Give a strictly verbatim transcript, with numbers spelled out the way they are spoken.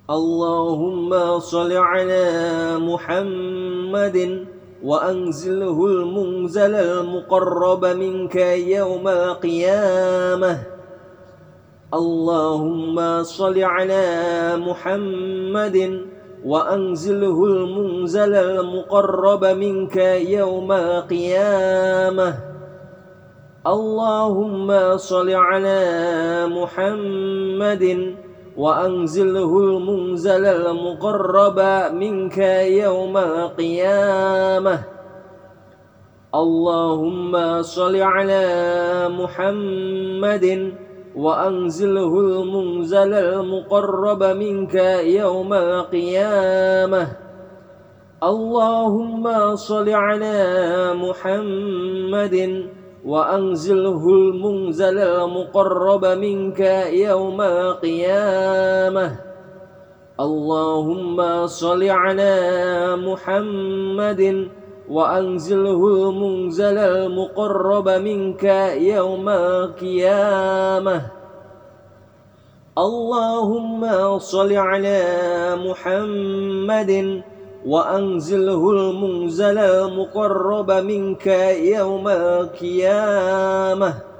اللهم صل على محمد وأنزله المنزل المقرب منك يوم القيامة. اللهم صل على محمد وأنزله المنزل المقرب منك يوم القيامة. اللهم صل على محمد وأنزله المنزل المقرب منك يوم القيامة. اللهم صل على محمد وأنزله المنزل المقرب منك يوم القيامة. اللهم صل على محمد وأنزله المنزل المقرب منك يوم القيامة. اللهم صل على محمد وأنزله المنزل المقرب منك يوم القيامة. اللهم صل على محمد وأنزله المنزل المقرب منك يوم القيامة.